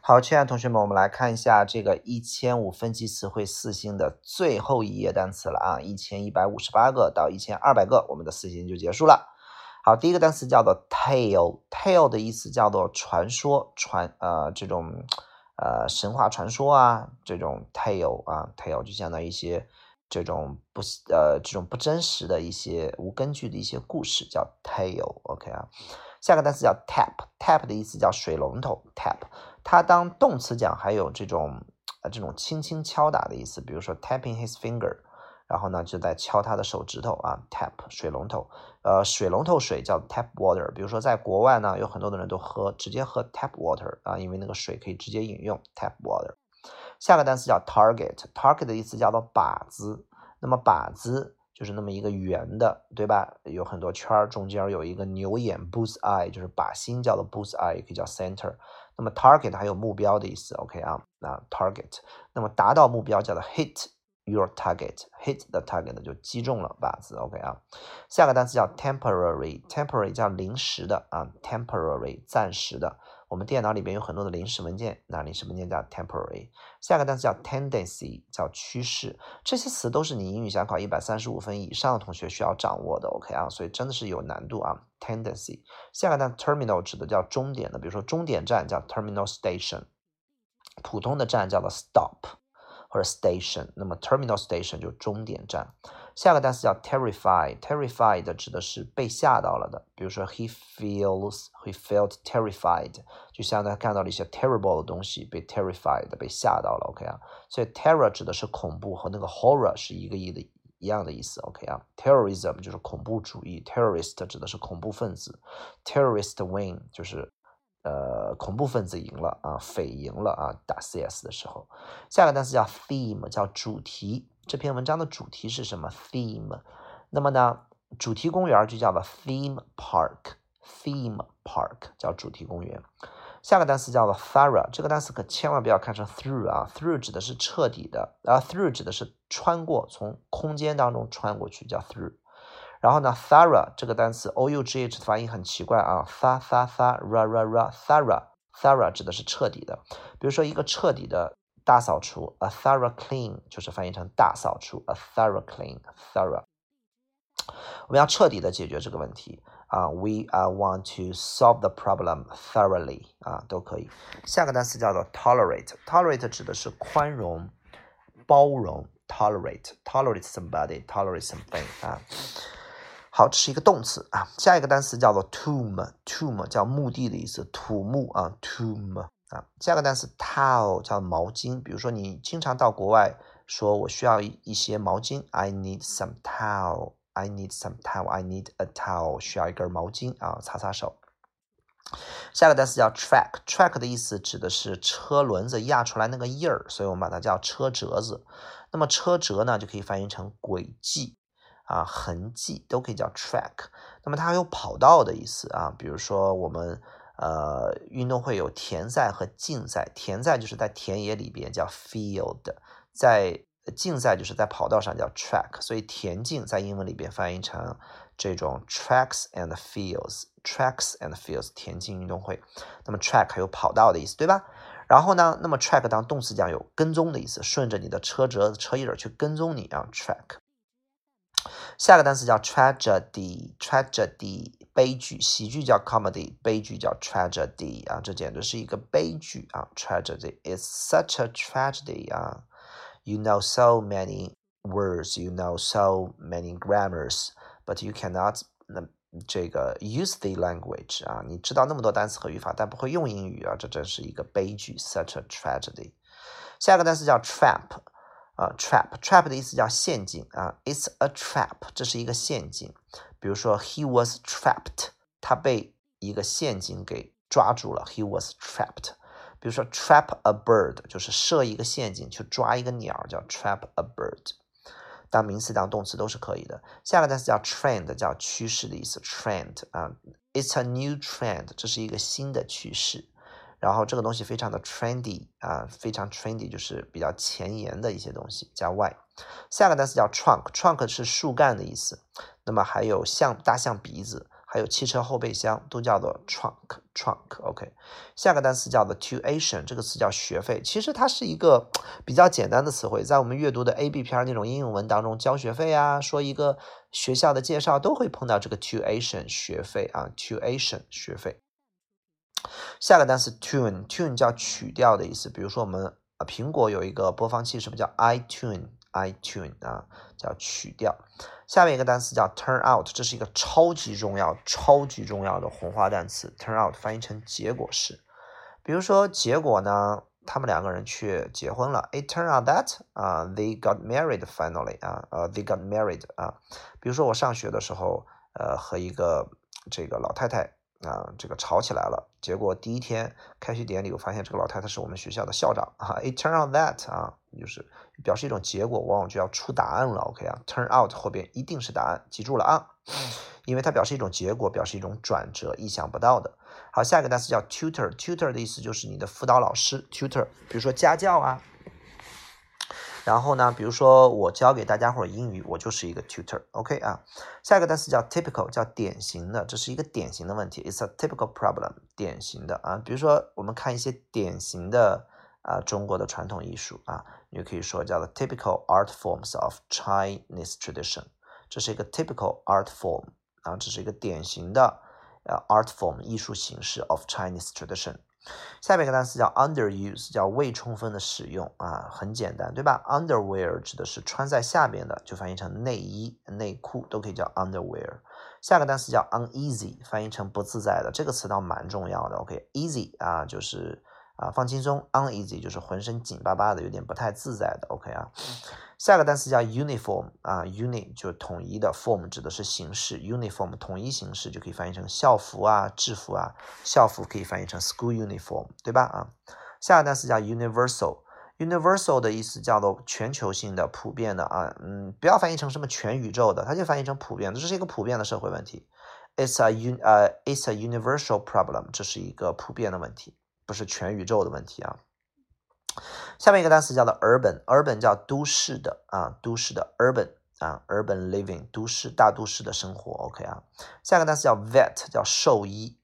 好，亲爱的同学们，我们来看一下这个1005分级词汇4星的最后一页单词了啊，1158个到1200个，我们的4星就结束了。好，第一个单词叫做 tale，tale 的意思叫做传说，这种神话传说啊，这种 tale 啊 tale 就相当于一些这种不真实的一些无根据的一些故事叫 tale，OK 啊。下个单词叫 tap，tap 的意思叫水龙头 tap，它当动词讲还有这种轻轻敲打的意思，比如说 tapping his finger， 然后呢就在敲他的手指头啊 tap 水龙头，水龙头水叫 tap water， 比如说在国外呢有很多的人都直接喝 tap water 啊，因为那个水可以直接饮用 tap water。下个单词叫 target，target 的意思叫做靶子，那么靶子就是那么一个圆的，对吧？有很多圈，中间有一个牛眼 bull's eye， 就是靶心叫做 bull's eye， 也可以叫 center。那么 target 还有目标的意思 ，OK 啊，那 target， 那么达到目标叫做 hit your target，hit the target 就击中了靶子 ，OK 啊。下个单词叫 temporary，temporary 叫临时的啊 ，temporary 暂时的。我们电脑里边有很多的临时文件，那临时文件叫 temporary。下个单词叫 tendency， 叫趋势。这些词都是你英语想考135分以上的同学需要掌握的 ，OK 啊，所以真的是有难度啊。tendency。下个单词 terminal 指的叫终点的，比如说终点站叫 terminal station， 普通的站叫做 stop 或者 station， 那么 terminal station 就终点站。下个单词叫 terrified 指的是被吓到了的，比如说 he felt terrified， 就相当于看到了一些 terrible 的东西，被 terrified 被吓到了 ，OK 啊，所以 terror 指的是恐怖，和那个 horror 是一样的意思 ，OK 啊 ，terrorism 就是恐怖主义 ，terrorist 指的是恐怖分子 ，terrorist win 就是恐怖分子赢了啊，匪赢了啊，打 CS 的时候。下个单词叫 theme， 叫主题。这篇文章的主题是什么 ？theme。那么呢，主题公园就叫做 theme park，theme park 叫主题公园。下个单词叫做 thorough， 这个单词可千万不要看成 through 啊 ，through 指的是彻底的，through 指的是穿过，从空间当中穿过去叫 through。然后呢 thorough 这个单词 oughh 发音很奇怪啊 thorough 指的是彻底的，比如说一个彻底的大扫除 a thorough clean 就是翻译成大扫除 a thorough clean thorough。 我们要彻底的解决这个问题啊 we want to solve the problem thoroughly 啊，都可以。下个单词叫做 tolerate 指的是宽容包容 tolerate somebody tolerate something 啊。好，这是一个动词啊。下一个单词叫做 tomb 叫墓地的意思，土木啊 tomb 啊。下个单词 towel 叫毛巾，比如说你经常到国外说我需要一些毛巾 I need some towel I need a towel 需要一根毛巾啊，擦擦手。下个单词叫 track 的意思指的是车轮子压出来那个印儿，所以我们把它叫车辙子。那么车辙呢就可以翻译成轨迹啊，痕迹都可以叫 track。那么它还有跑道的意思啊，比如说我们运动会有田赛和竞赛，田赛就是在田野里边叫 field， 在竞赛就是在跑道上叫 track， 所以田径在英文里边翻译成这种 tracks and fields 田径运动会。那么 track 还有跑道的意思，对吧？然后呢，那么 track 当动词讲有跟踪的意思，顺着你的车辙车印去跟踪你啊 track。下个单词叫 tragedy 悲剧，喜剧叫 comedy， 悲剧叫 tragedy 啊，这简直是一个悲剧啊 tragedy is such a tragedy 啊 you know so many words you know so many grammars but you cannot use the language 啊，你知道那么多单词和语法但不会用英语啊，这真是一个悲剧 such a tragedy。 下个单词叫 trap 的意思叫陷阱啊 ，It's a trap， 这是一个陷阱。比如说 He was trapped， 他被一个陷阱给抓住了 ，He was trapped。比如说 trap a bird， 就是设一个陷阱去抓一个鸟，叫 trap a bird。当名词当动词都是可以的。下个单词叫 trend， 叫趋势的意思 ，trend 啊 ，It's a new trend， 这是一个新的趋势。然后这个东西非常的 trendy 啊，非常 trendy 就是比较前沿的一些东西，加 y。下个单词叫 trunk 是树干的意思。那么还有大象鼻子还有汽车后备箱都叫做 trunk。OK， 下个单词叫做 tuition， 这个词叫学费，其实它是一个比较简单的词汇，在我们阅读的 A、B 篇那种应用文当中，交学费啊，说一个学校的介绍都会碰到这个 tuition 学费啊 ，tuition 学费。下个单词 tune 叫曲调的意思，比如说我们苹果有一个播放器，是不是叫 iTune 啊，叫曲调。下面一个单词叫 turn out， 这是一个超级重要的红花单词 ，turn out 翻译成结果式。比如说结果呢，他们两个人去结婚了 ，it turned out that they got married finally they got married 比如说我上学的时候和一个这个老太太这个吵起来了，结果第一天开学典礼，我发现这个老太太是我们学校的校长，it turned out that 就是表示一种结果，往往就要出答案了。OK turn out 后边一定是答案，记住了因为它表示一种结果，表示一种转折，意想不到的。好，下一个单词叫 tutor 的意思就是你的辅导老师 tutor， 比如说家教然后呢，比如说我教给大家伙英语，我就是一个 tutor。OK 下一个单词叫 typical， 叫典型的，这是一个典型的问题 ，it's a typical problem， 典型的比如说我们看一些典型的中国的传统艺术你就可以说叫做 typical art forms of Chinese tradition， 这是一个 typical art form这是一个典型的art form 艺术形式 of Chinese tradition。下面一个单词叫 underuse， 叫未充分的使用很简单，对吧 ？underwear 指的是穿在下边的，就翻译成内衣、内裤都可以叫 underwear。下个单词叫 uneasy， 翻译成不自在的，这个词倒蛮重要的。OK，easy 就是放轻松 ，uneasy 就是浑身紧巴巴的，有点不太自在的。OK 下个单词叫 uniform uni 就统一的 form 指的是形式 uniform 统一形式就可以翻译成校服制服校服可以翻译成 school uniform 对吧下个单词叫 universal 的意思叫做全球性的普遍的不要翻译成什么全宇宙的，它就翻译成普遍的，这是一个普遍的社会问题 it's a universal problem 这是一个普遍的问题，不是全宇宙的问题下面一个单词叫做 urban 叫都市的都市的 urban living 大都市的生活 OK 下个单词叫 vet 叫兽医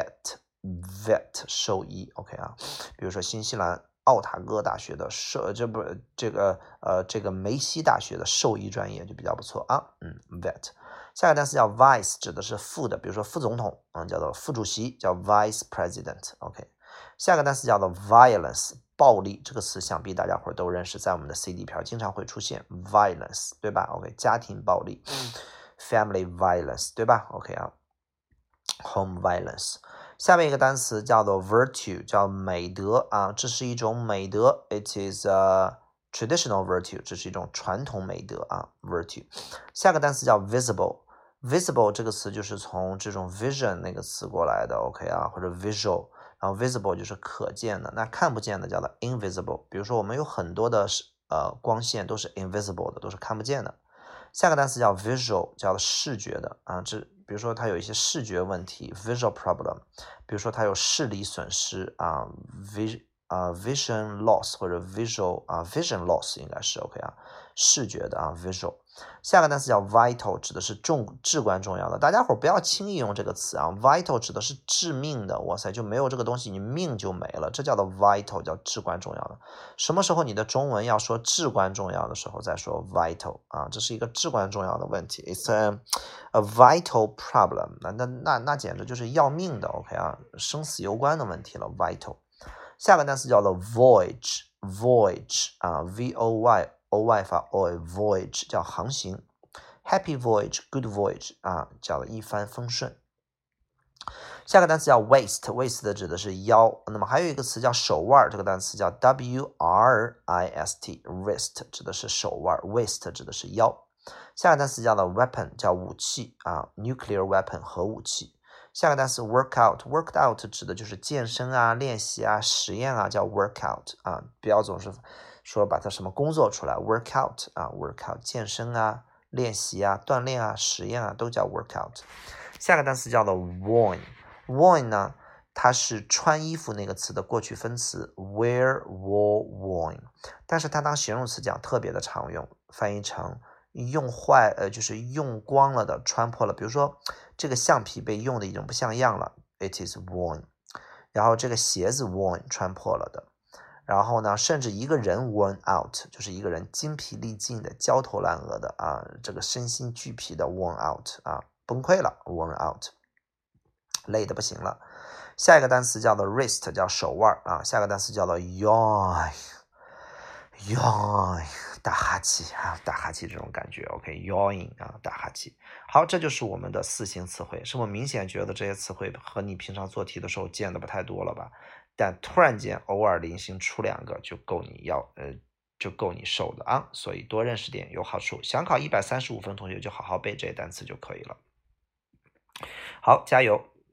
vet 兽医 OK 比如说新西兰奥塔哥大学的这个梅西大学的兽医专业就比较不错vet。下个单词叫 vice 指的是副的，比如说副总统叫做副主席，叫 vice president OK。下个单词叫做 violence 暴力，这个词想必大家伙都认识，在我们的 CD 片经常会出现 violence 对吧 OK 家庭暴力family violence 对吧 OK home violence。下面一个单词叫做 virtue 叫美德这是一种美德 it is a traditional virtue 这是一种传统美德virtue。下个单词叫 visible 这个词就是从这种 vision 那个词过来的 OK 或者 visual， 然后 visible 就是可见的，那看不见的叫做 invisible， 比如说我们有很多的光线都是 invisible 的，都是看不见的。下个单词叫 visual 叫视觉的比如说它有一些视觉问题 visual problem， 比如说它有视力损失vision loss 或者 vision loss 应该是 OK 视觉的visual。下个单词叫 vital 指的是至关重要的，大家伙不要轻易用这个词vital 指的是致命的，哇塞就没有这个东西你命就没了，这叫做 vital 叫至关重要的。什么时候你的中文要说至关重要的时候再说 vital 这是一个至关重要的问题 it's a vital problem， 那简直就是要命的 OK 生死攸关的问题了 vital。下个单词叫做 voyage voy 发 voyage 叫航行 happy voyage good voyage 叫一帆风顺。下个单词叫 waist 指的是腰，那么还有一个词叫手腕，这个单词叫 wrist wrist 指的是手腕 waist 指的是腰。下个单词叫做 weapon 叫武器nuclear weapon 核武器。下个单词 workout 指的就是健身练习实验叫 workout 不要总是说把它什么工作出来 workout workout 健身练习锻炼实验都叫 workout。下个单词叫做 worn 呢，它是穿衣服那个词的过去分词 wear wore worn， 但是它当形容词讲特别的常用，翻译成用坏就是用光了的穿破了，比如说这个橡皮被用的已经不像样了 ，it is worn。然后这个鞋子 worn 穿破了的。然后呢，甚至一个人 worn out 就是一个人精疲力尽的、焦头烂额的啊，这个身心俱疲的 worn out 啊，崩溃了 worn out， 累得不行了。下一个单词叫做 wrist， 叫手腕啊。下个单词叫做 yawn， 打哈欠啊，打哈欠这种感觉 ，OK，yawning 啊，打哈欠。好，这就是我们的4型词汇。是不是明显觉得这些词汇和你平常做题的时候见的不太多了吧？但突然间偶尔零星出2个就够你受的啊，所以多认识点有好处。想考135分同学就好好背这些单词就可以了。好，加油！